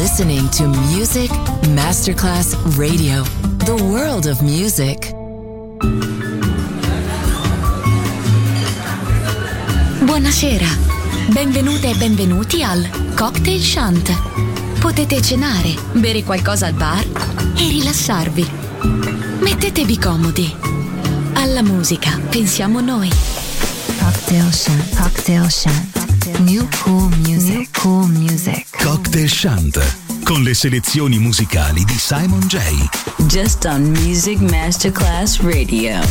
listening to Music Masterclass Radio, the world of music. Buonasera, benvenute e benvenuti al Cocktail Shant. Potete cenare, bere qualcosa al bar e rilassarvi. Mettetevi comodi. Alla musica pensiamo noi. Cocktail Shant. Cocktail Shant. New cool music. New cool music. Cocktail Shant, con le selezioni musicali di Simon J. Just on Music Masterclass Radio.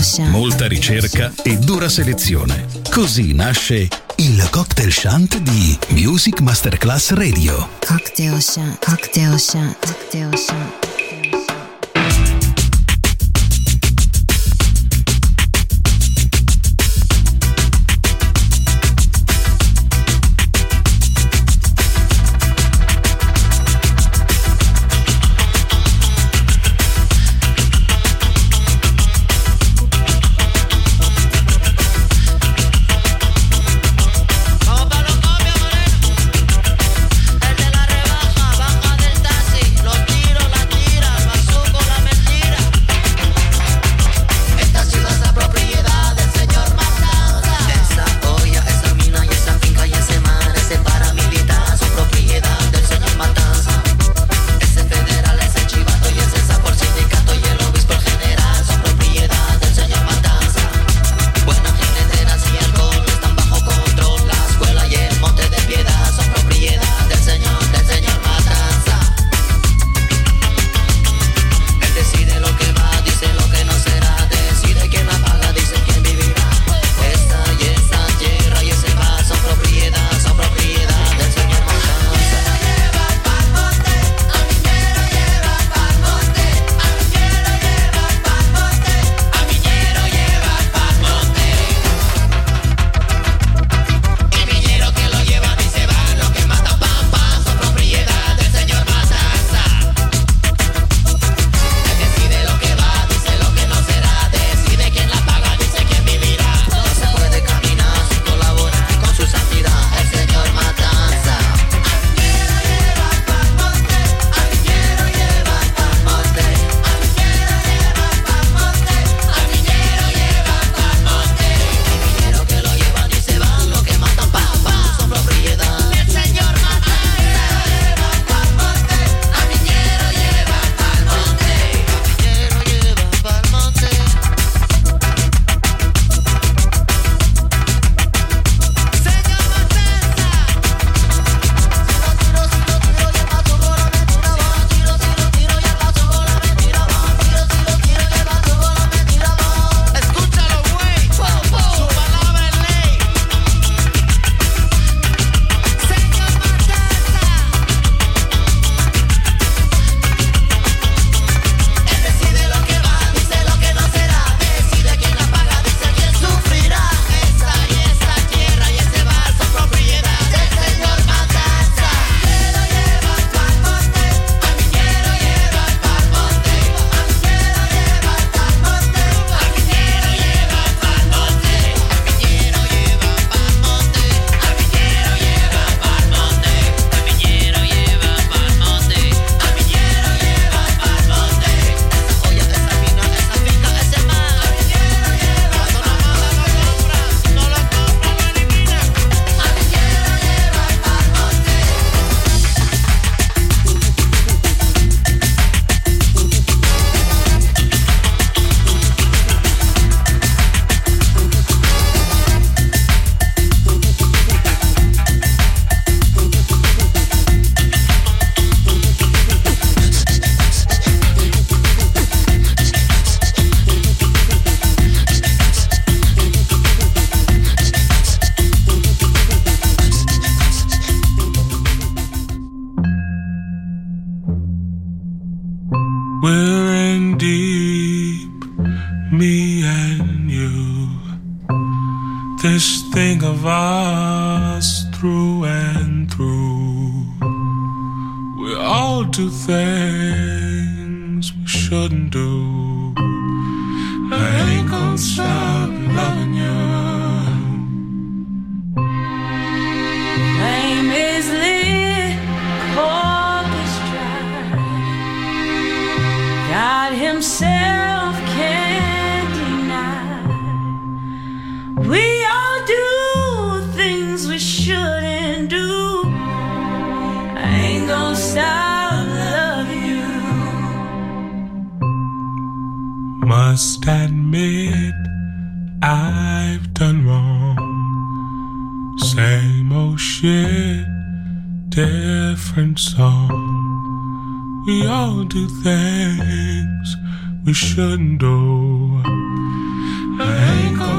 molta ricerca e dura selezione. Così nasce il Cocktail Shant di Music Masterclass Radio. Cocktail Shant, Cocktail Shant, Cocktail Shant. This thing of us through and through. We all do things we shouldn't do. I ain't gonna stop loving you. Name is Lee, cork is dry. God himself can't deny. We all do things we shouldn't do. I ain't gonna stop loving you. Must admit I've done wrong. Same old shit, different song. We all do things we shouldn't do.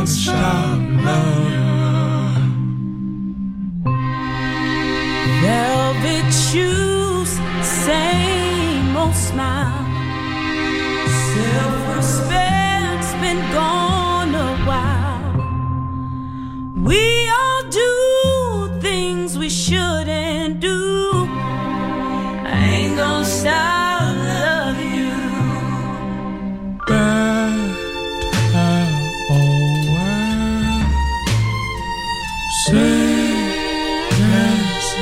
gonna stop loving you. Velvet shoes, same old smile. Self-respect's been gone a while. We all do things we shouldn't do. I ain't gonna stop loving you. Bad away. Say yes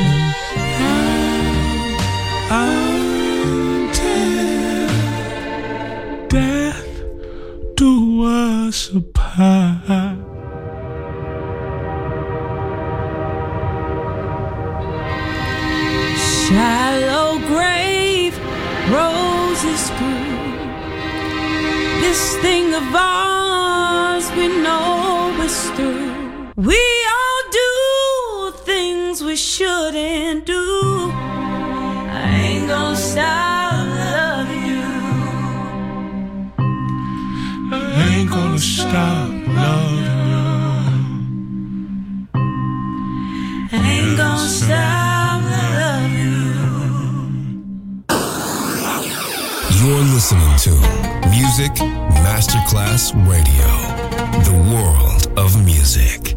until death do us apart. Shallow grave, roses grew. This thing of ours we know is through. We all do things we shouldn't do. I ain't gonna stop loving you. I ain't gonna stop loving you. I ain't gonna stop loving you. You're listening to Music Masterclass Radio, the world of music.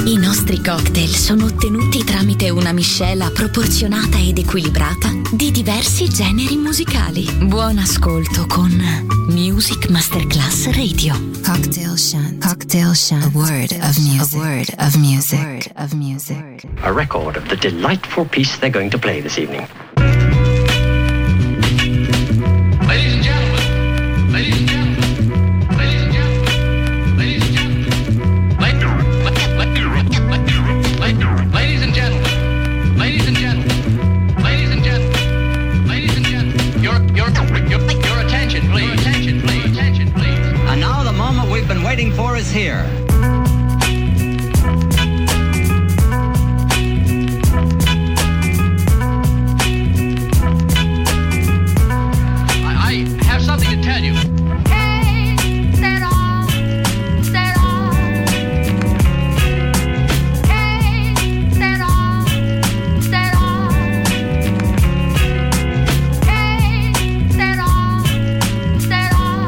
I nostri cocktail sono ottenuti tramite una miscela proporzionata ed equilibrata di diversi generi musicali. Buon ascolto con Music Masterclass Radio. Cocktail Shant. Cocktail Shant. A word of music. A word of music. A word of music. A record of the delightful piece they're going to play this evening. Ladies and gentlemen. Ladies and gentlemen. Ladies and gentlemen. Ladies and gentlemen. Ladies and gentlemen. Ladies and gentlemen. Ladies and gentlemen. Ladies and gentlemen. Your attention, please. Attention, please. Attention, please. And now the moment we've been waiting for is here. I have something to tell you. Hey, set off, set off. Hey, set off, set off. Hey, set off, set off.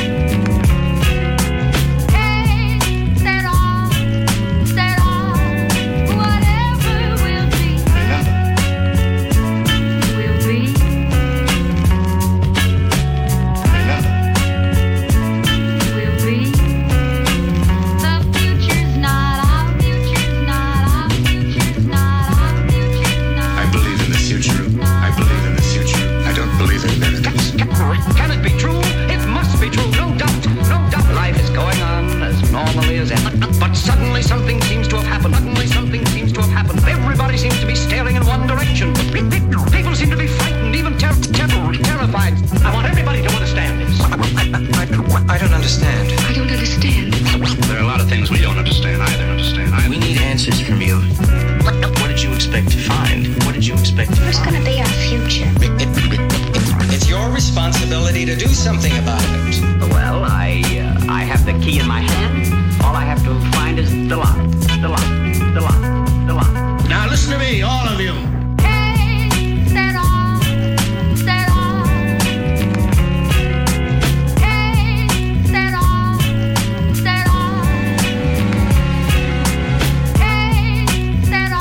Hey, set off, set off. Whatever will be, will be. Will be. The future's not our future's not our future's not our future's not. I believe in the future. I believe in the future. I don't believe in miracles. Can it be true? It must be true, no doubt, no doubt. Life is going on as normally as ever. But suddenly something seems to have happened. Suddenly something seems to have happened. Everybody seems to be staring in one direction. People seem to be frightened, even terrified. I want everybody to understand this. I don't understand. I don't understand. There are a lot of things we don't understand either. We need answers from you. What did you expect to find? What did you expect to Who's find? gonna be our future? It's your responsibility to do something about it. Well, I have the key in my hand. All I have to find is the lock. The lock. The lock. The lock. Now listen to me, all of you. Hey, set off, set off. Hey, set off, set off. Hey, set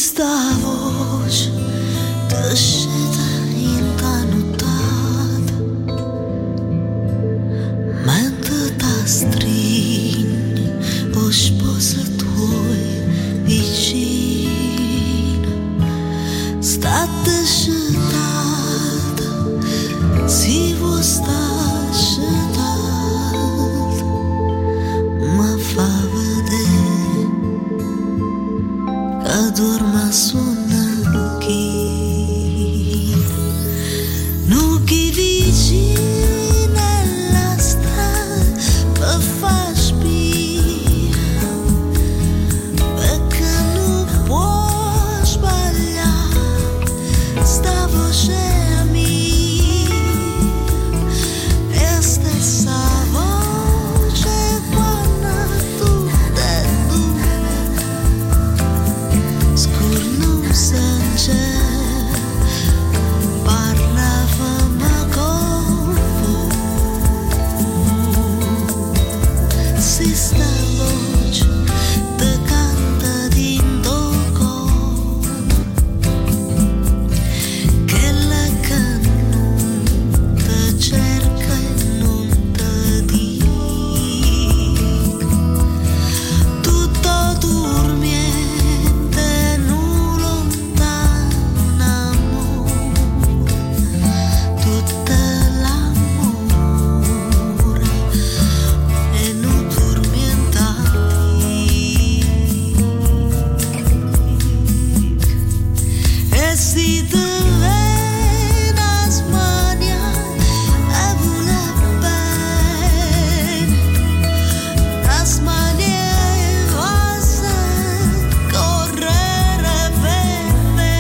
sta voce t'asceta intanutata mentre t'astringi o sposa tuoi vicina state scettata si vuoi sta scettata ma fa vedere che dorma su una china non chi vicina alla strada per far spia perché non può sbagliare sta voce mia è stessa voce quando tu te scurno sanje parlavamo con si sta voce te canta dinto che la canta cerca e non te dica tutto dormiente non lontano tutto l'amore e non dormientati e si te vede a smania e vuole bene a smania e cosa correre per me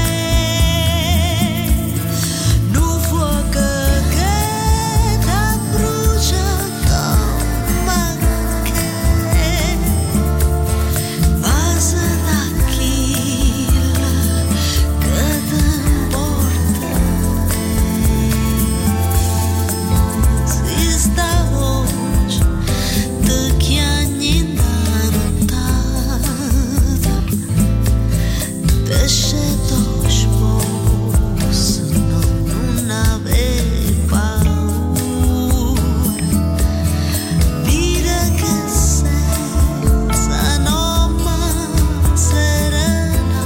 non fuoco che ti brucia come che vas da chi che ti importa si sta voce te chiagni intanutata te sceto sposo non avevi paura dire che senza nome serena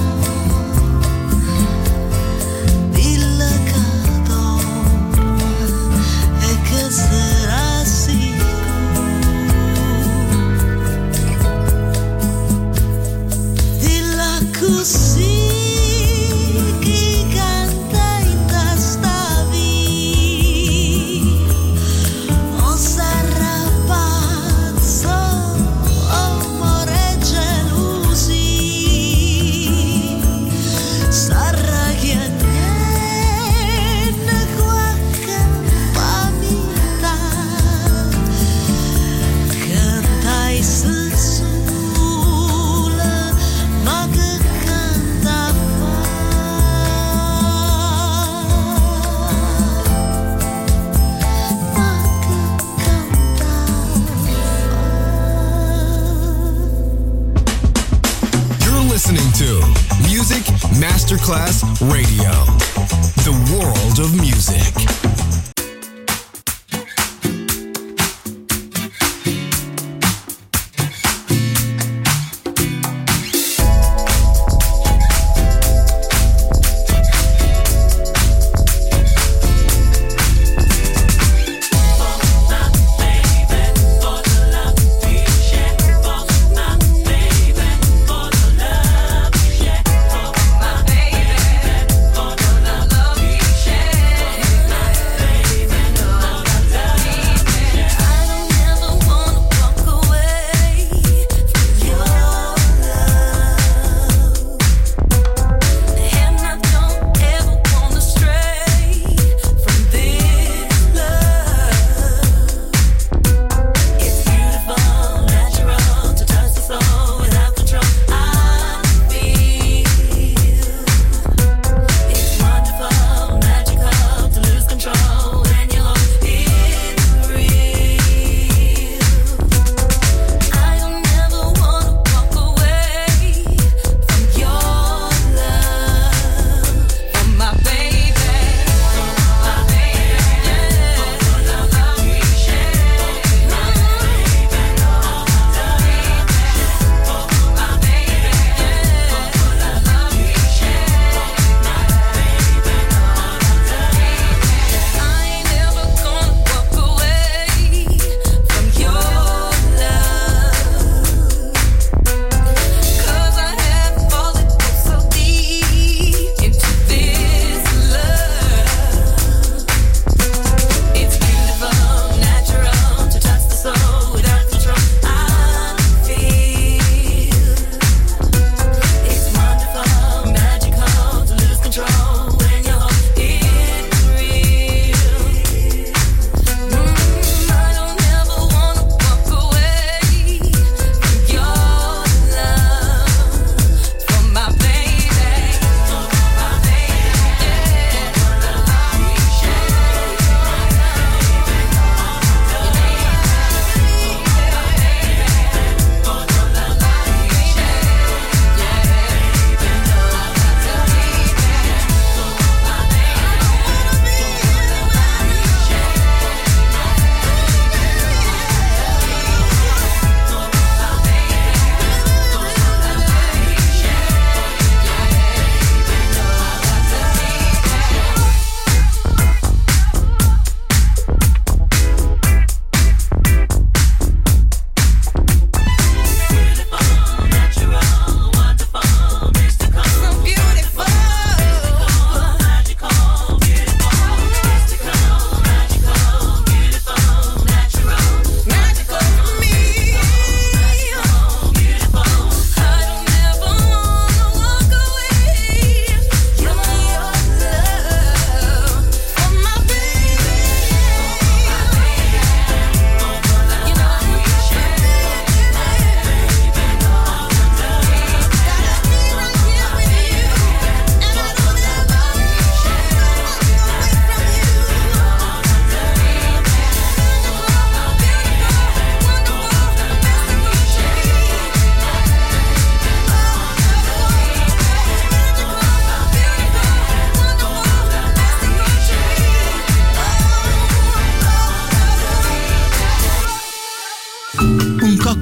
dille che dorme e che sarà sicuro dilla così chi canta in testa via non sarà pazzo amore e gelosia sarà che niente qualche pamità cantai se sola ma che canta fa ma che canta You're listening to Music Masterclass Radio, the world of music. baby, for the love you share.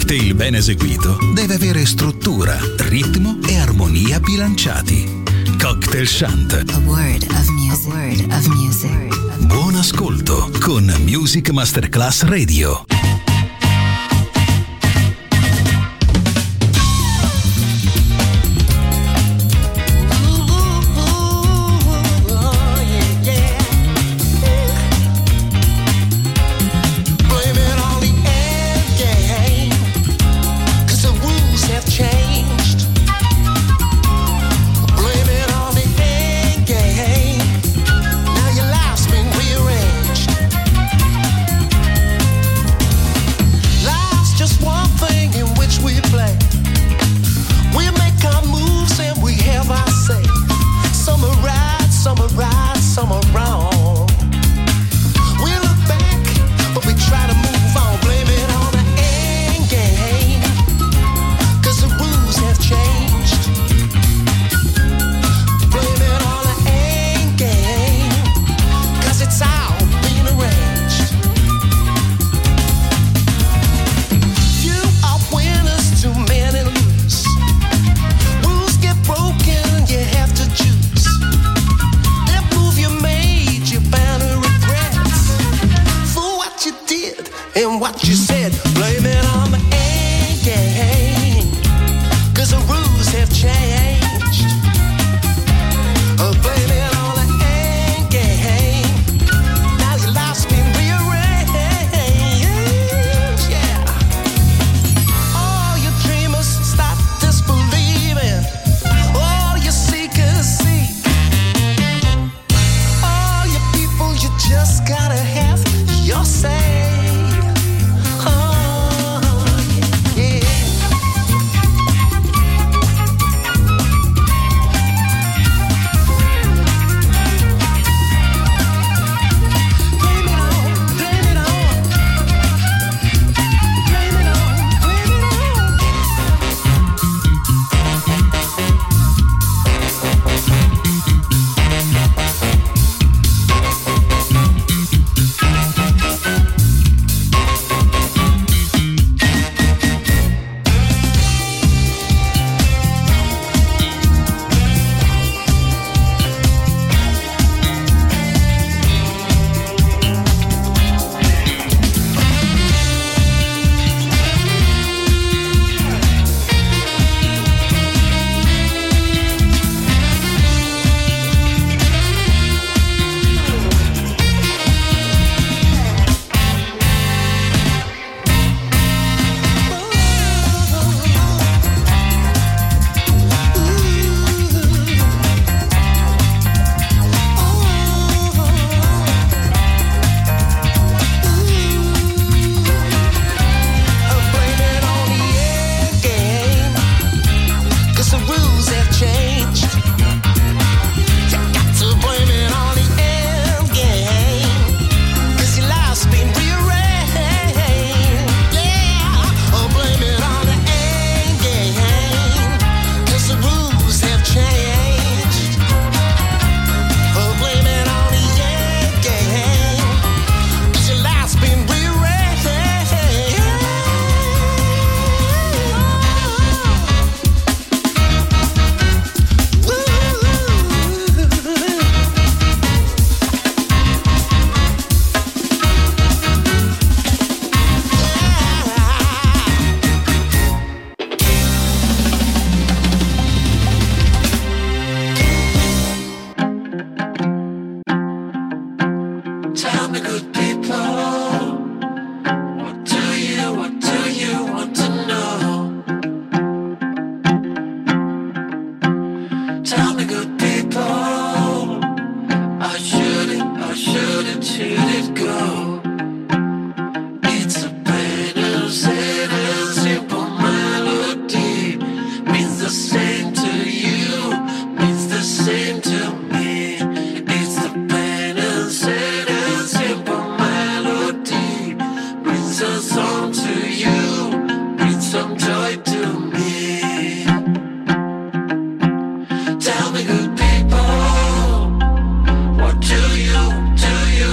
cocktail ben eseguito deve avere struttura, ritmo e armonia bilanciati. Cocktail Shant. A word of music. A word of music. Buon ascolto con Music Masterclass Radio.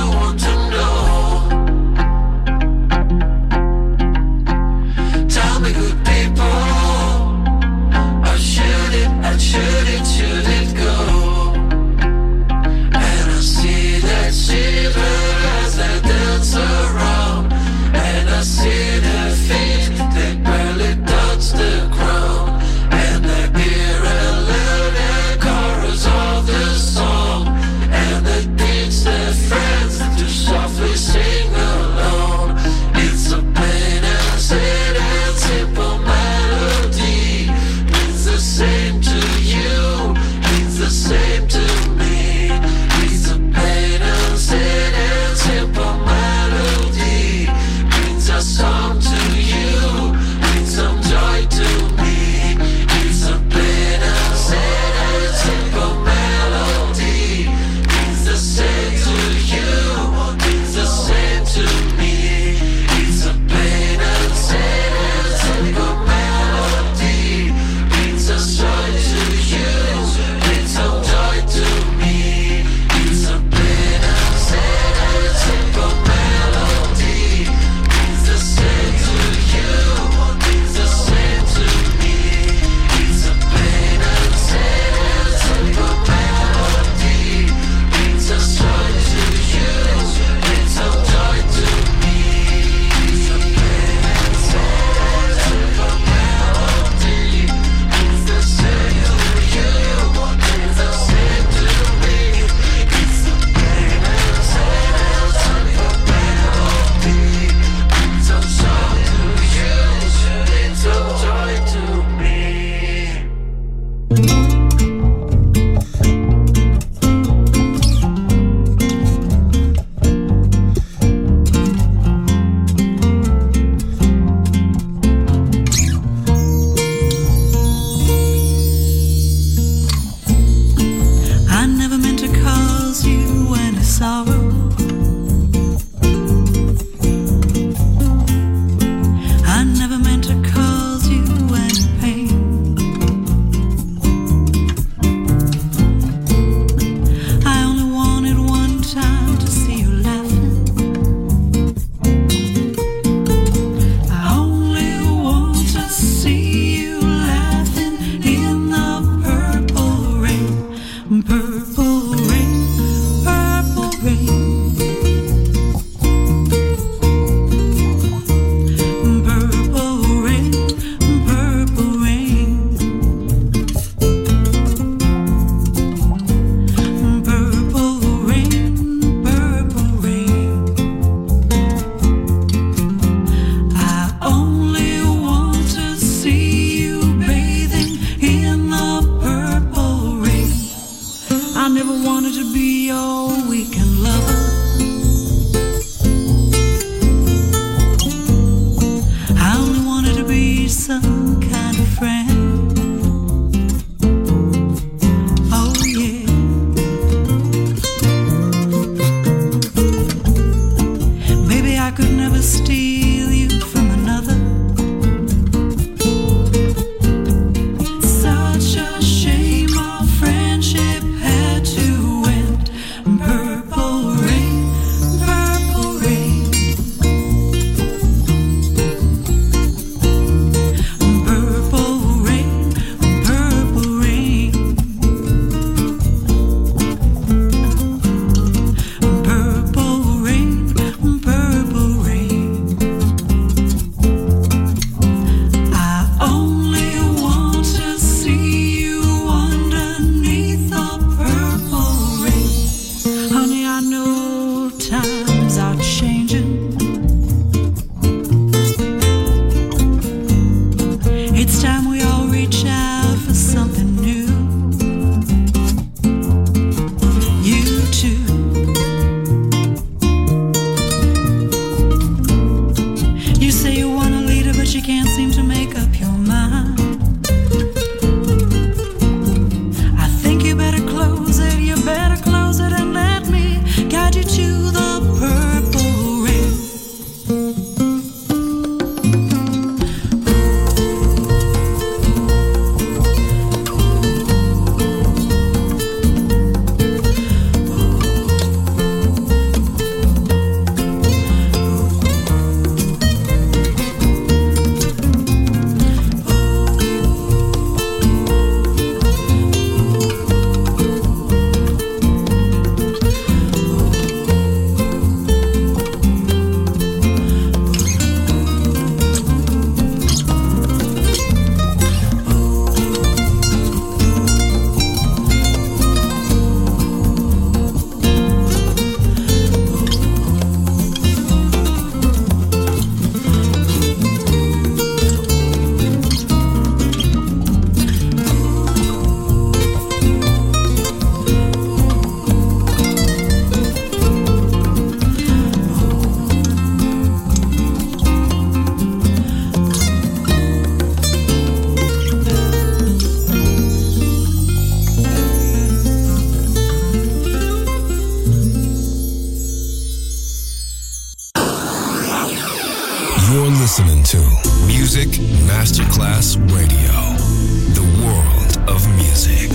Tell me wanted to be your weekend lover. I only wanted to be some kind of friend. Oh yeah. Baby, I could never steal you from another. Such a shame our friendship had to end. Purple rain, purple rain. Purple rain, purple rain. Purple rain, purple rain. I only want to see you underneath the purple rain. Honey, I know times are changing. It's time we all reach out for something new. You too. You say you want a leader, but you can't seem to make up your mind. I think you better close it, and let me guide you to the purple rain. You're listening to Music Masterclass Radio, the world of music.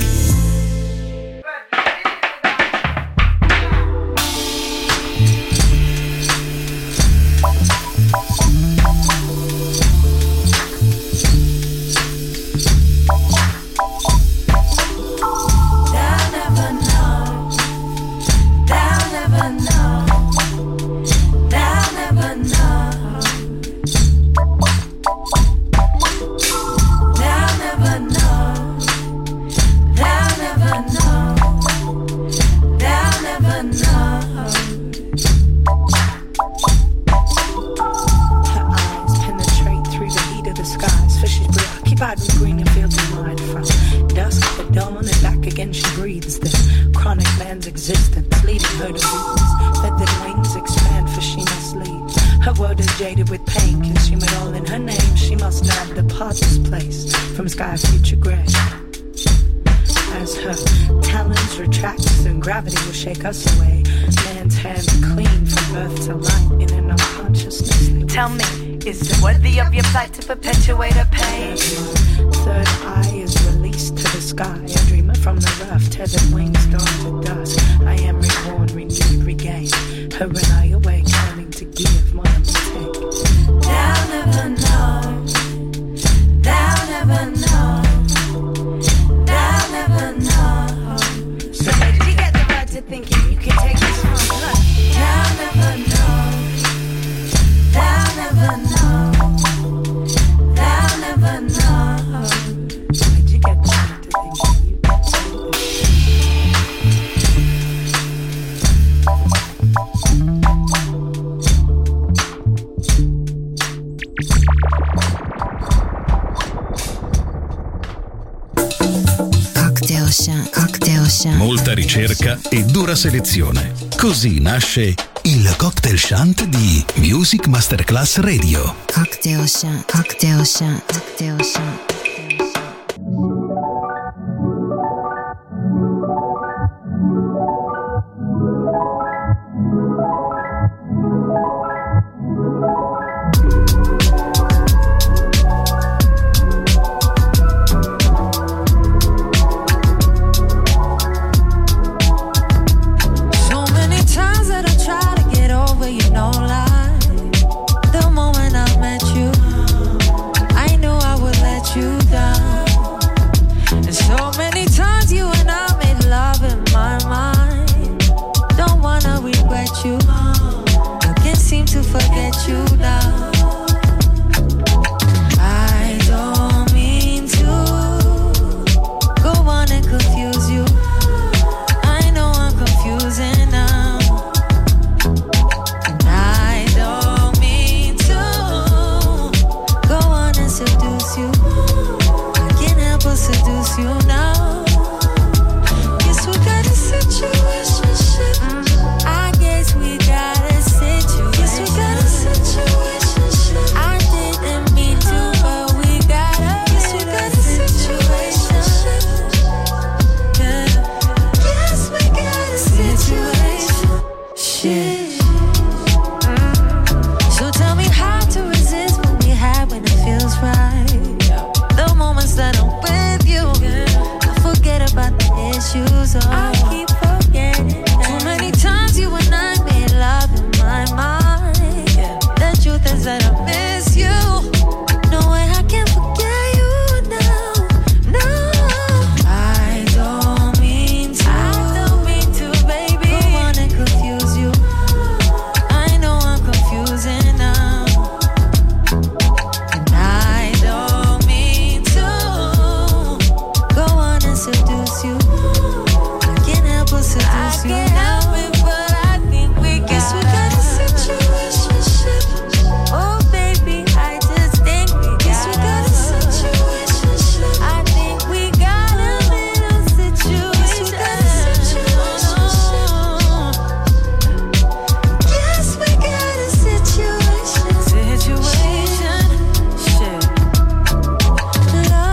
Shake us away. Man's hand clean from birth to life in an unconsciousness. Tell me, is it worthy of your plight to perpetuate her pain? Third eye is released to the sky. A dreamer from the rough, tethered wings down to dust. I am reborn, renewed, regained. Her and I awake, learning to give more than we take. Thou never know. Thou never know. Thou never know. So where did you get the right to thinking you can take this from her? Thou never know. Thou never know. Thou never know. Where'd you get the right to thinking you can take Cocktail Ocean. Molta ricerca e dura selezione. Così nasce il cocktail shant di Music Masterclass Radio. Cocktail Shant. Cocktail Shant. Cocktail Shant.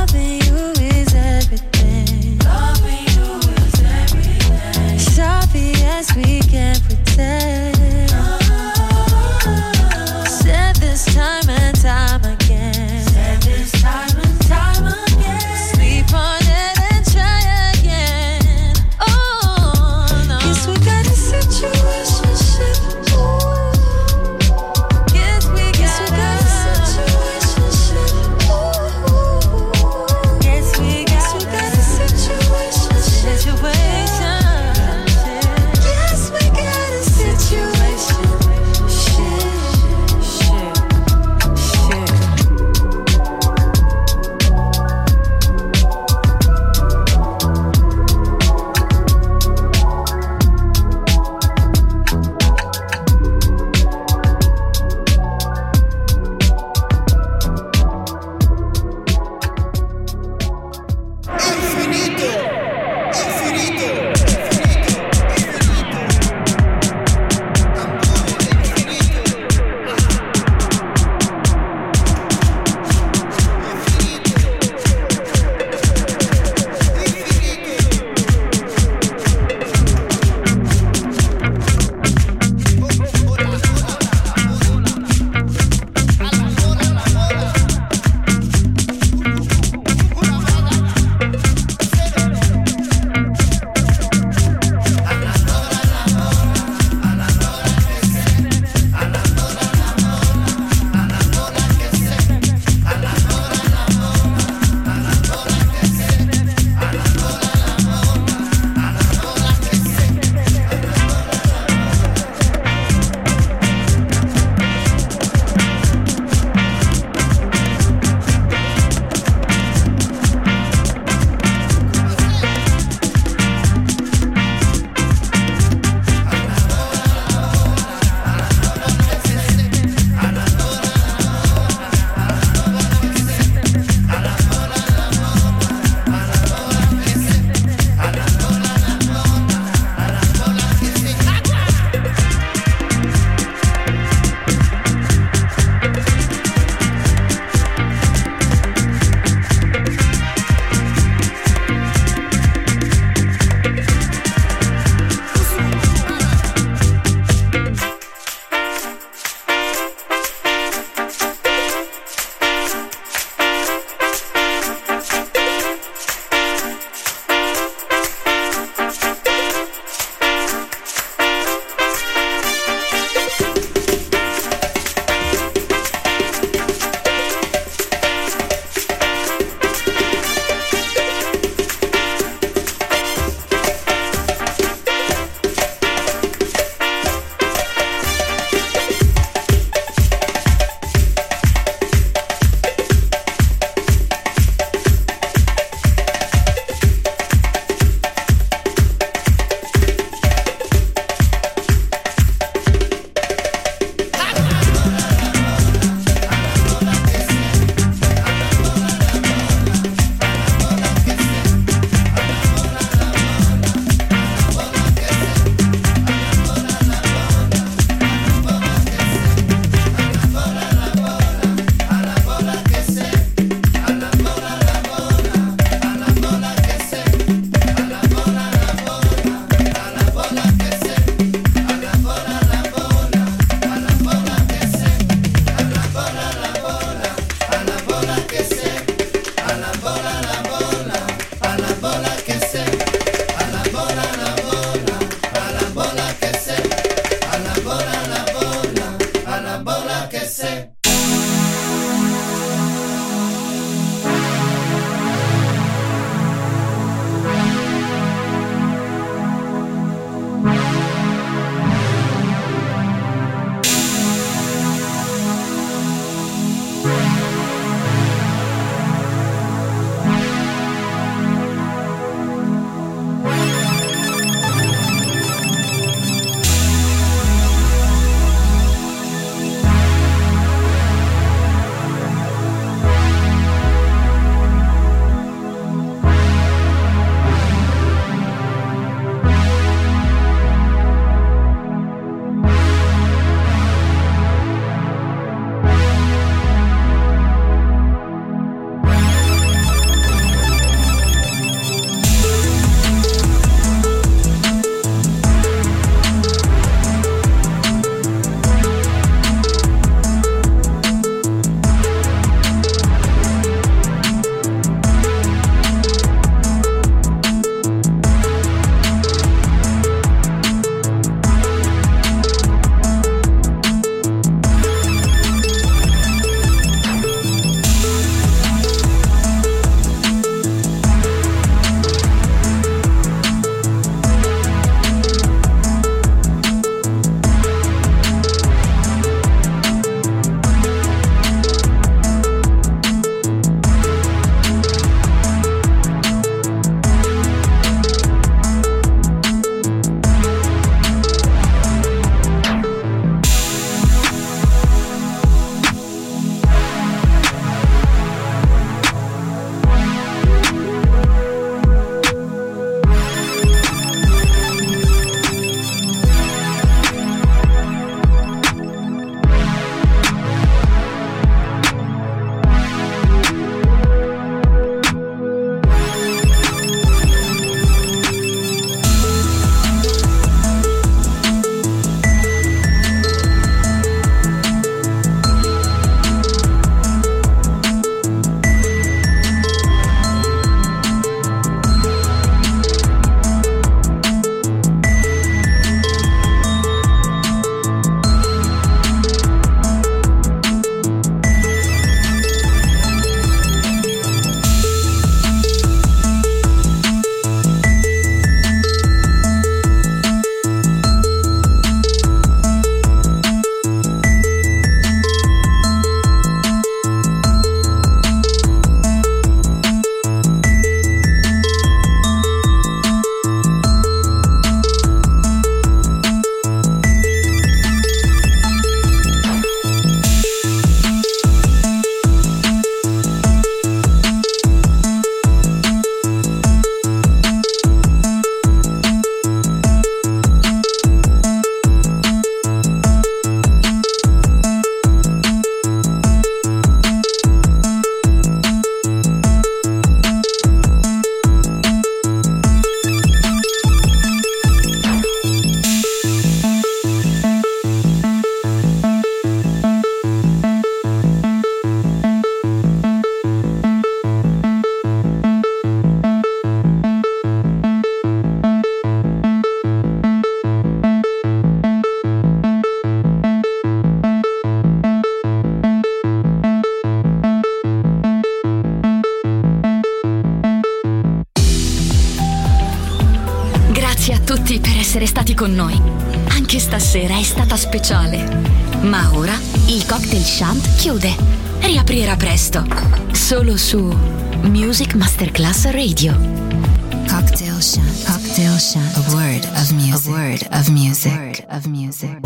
Be essere stati con noi. Anche stasera è stata speciale. Ma ora il Cocktail Shant chiude. Riaprirà presto. Solo su Music Masterclass Radio. Cocktail Shant. Cocktail Shant. A word of music. A word of music.